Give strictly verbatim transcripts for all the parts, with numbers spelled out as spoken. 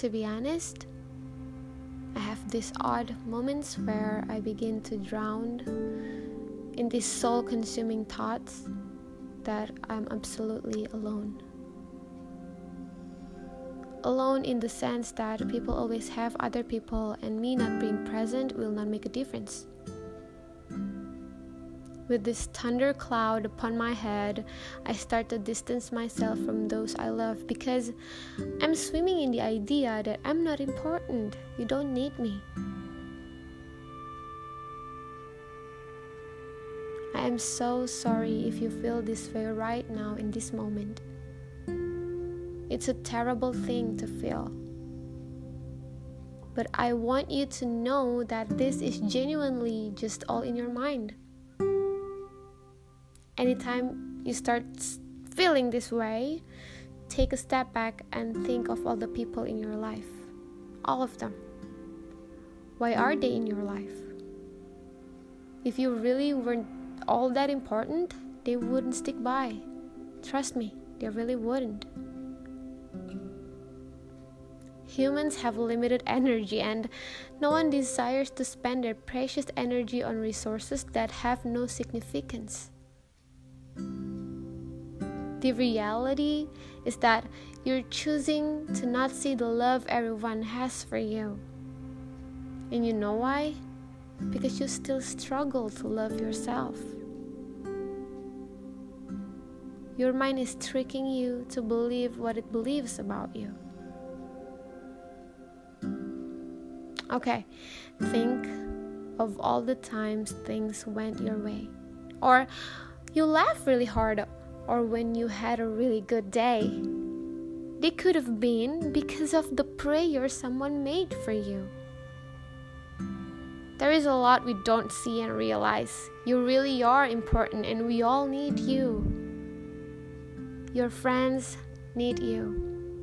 to be honest, I have these odd moments where I begin to drown in these soul-consuming thoughts that I'm absolutely alone. Alone in the sense that people always have other people and me not being present will not make a difference. With this thunder cloud upon my head, I start to distance myself from those I love because I'm swimming in the idea that I'm not important. You don't need me. I am so sorry if you feel this way right now in this moment. It's a terrible thing to feel. But I want you to know that this is genuinely just all in your mind. Anytime you start feeling this way, take a step back and think of all the people in your life. All of them. Why are they in your life? If you really weren't all that important, they wouldn't stick by. Trust me, they really wouldn't. Humans have limited energy and no one desires to spend their precious energy on resources that have no significance. The reality is that you're choosing to not see the love everyone has for you. And you know why? Because you still struggle to love yourself. Your mind is tricking you to believe what it believes about you. Okay, think of all the times things went your way. Or you laughed really hard, or when you had a really good day. They could have been because of the prayer someone made for you. There is a lot we don't see and realize. You really are important and we all need you. Your friends need you.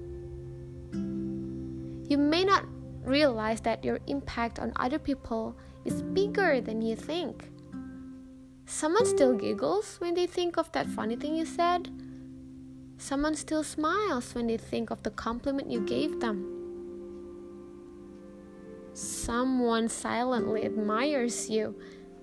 You may not realize that your impact on other people is bigger than you think. Someone still giggles when they think of that funny thing you said. Someone still smiles when they think of the compliment you gave them. Someone silently admires you.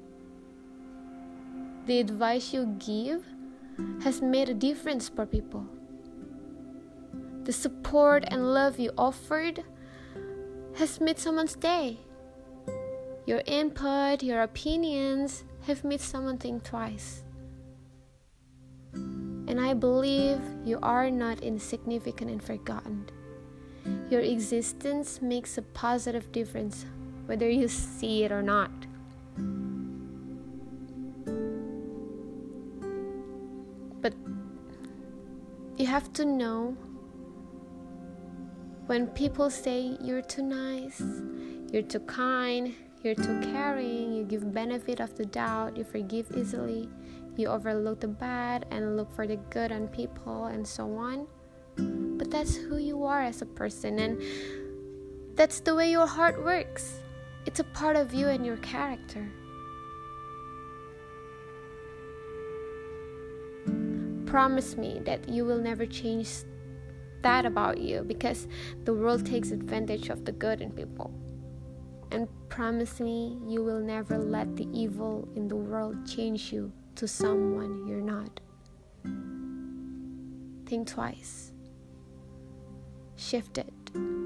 The advice you give has made a difference for people. The support and love you offered has made someone's day. Your input, your opinions have made someone think twice. And I believe you are not insignificant and forgotten. Your existence makes a positive difference, whether you see it or not. But you have to know, when people say you're too nice, you're too kind, you're too caring, you give benefit of the doubt, you forgive easily, you overlook the bad and look for the good in people and so on. But that's who you are as a person, and that's the way your heart works. It's a part of you and your character. Promise me that you will never change that about you, because the world takes advantage of the good in people. And promise me you will never let the evil in the world change you to someone you're not. Think twice. Shift it.